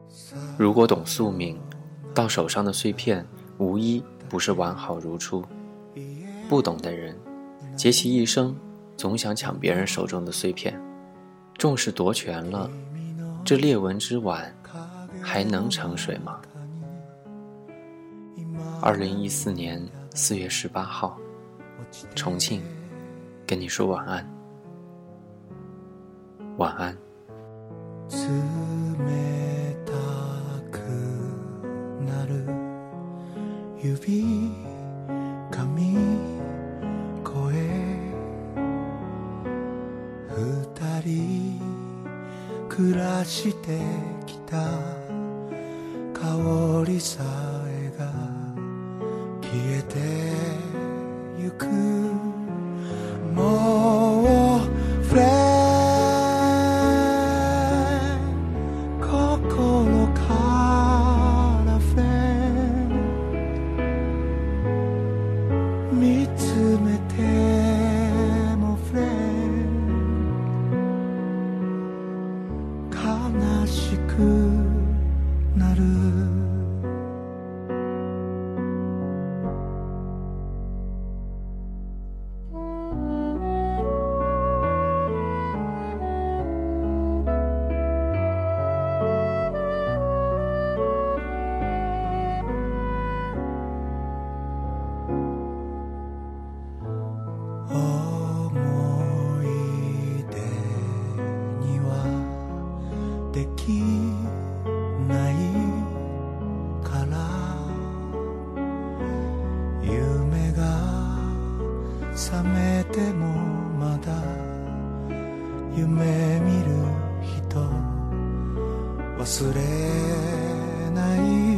如果懂宿命，到手上的碎片无一不是完好如初。不懂的人，竭其一生总想抢别人手中的碎片，重视夺权了，这裂纹之碗还能盛水吗？2014年4月18号，重庆，跟你说晚安，晚安。 暮らしてきた香りさえが消えてゆくもうフレン心からフレン見つめてもフレン悲しくなるできないから夢が覚めてもまだ夢見る人忘れない